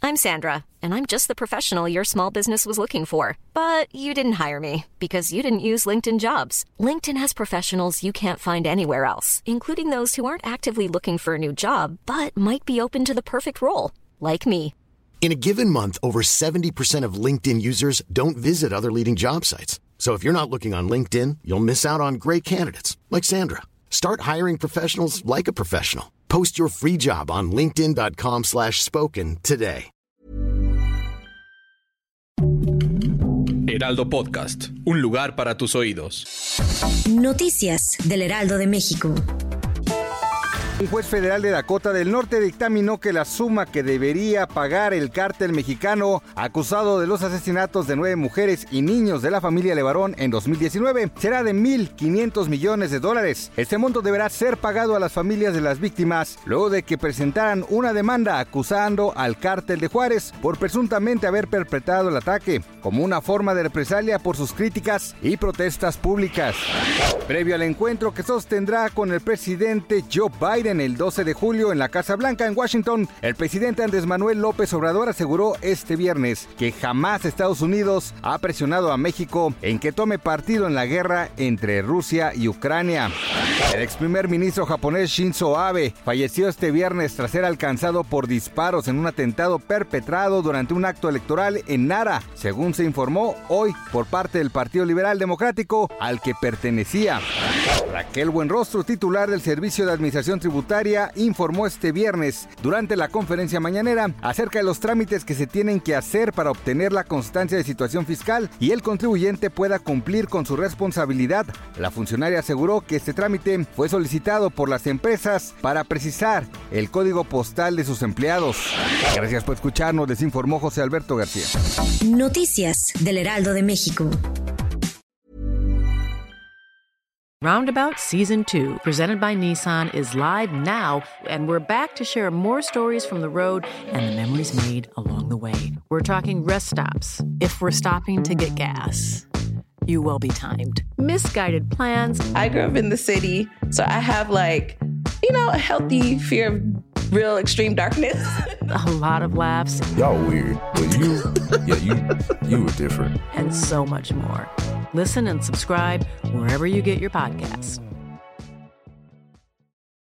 I'm Sandra, and I'm just the professional your small business was looking for. But you didn't hire me because you didn't use LinkedIn Jobs. LinkedIn has professionals you can't find anywhere else, including those who aren't actively looking for a new job, but might be open to the perfect role, like me. In a given month, over 70% of LinkedIn users don't visit other leading job sites. So if you're not looking on LinkedIn, you'll miss out on great candidates like Sandra. Start hiring professionals like a professional. Post your free job on linkedin.com/spoken today. Heraldo Podcast, un lugar para tus oídos. Noticias del Heraldo de México. Un juez federal de Dakota del Norte dictaminó que la suma que debería pagar el cártel mexicano acusado de los asesinatos de 9 mujeres y niños de la familia Levarón en 2019 será de $1,500 millones. Este monto deberá ser pagado a las familias de las víctimas luego de que presentaran una demanda acusando al cártel de Juárez por presuntamente haber perpetrado el ataque como una forma de represalia por sus críticas y protestas públicas. Previo al encuentro que sostendrá con el presidente Joe Biden el 12 de julio en la Casa Blanca en Washington, el presidente Andrés Manuel López Obrador aseguró este viernes que jamás Estados Unidos ha presionado a México en que tome partido en la guerra entre Rusia y Ucrania. El ex primer ministro japonés Shinzo Abe falleció este viernes tras ser alcanzado por disparos en un atentado perpetrado durante un acto electoral en Nara, según se informó hoy por parte del Partido Liberal Democrático al que pertenecía. Raquel Buenrostro, titular del Servicio de Administración Tributaria, informó este viernes durante la conferencia mañanera acerca de los trámites que se tienen que hacer para obtener la constancia de situación fiscal y el contribuyente pueda cumplir con su responsabilidad. La funcionaria aseguró que este trámite fue solicitado por las empresas para precisar el código postal de sus empleados. Gracias por escucharnos, les informó José Alberto García. Noticias del Heraldo de México. Roundabout Season 2, presented by Nissan, is live now, and we're back to share more stories from the road and the memories made along the way. We're talking rest stops, if we're stopping to get gas. You will be timed. Misguided plans. I grew up in the city, so I have a healthy fear of real extreme darkness. A lot of laughs. Y'all weird, but you were different. And so much more. Listen and subscribe wherever you get your podcasts.